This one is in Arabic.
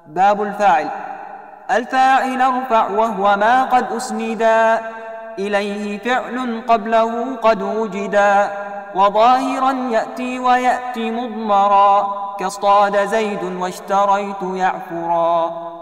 باب الفاعل. الفاعل ارفع وهو ما قد أسندا إليه فعل قبله قد وجدا، وظاهرا يأتي ويأتي مضمرا كاصطاد زيد واشتريت يعفرا.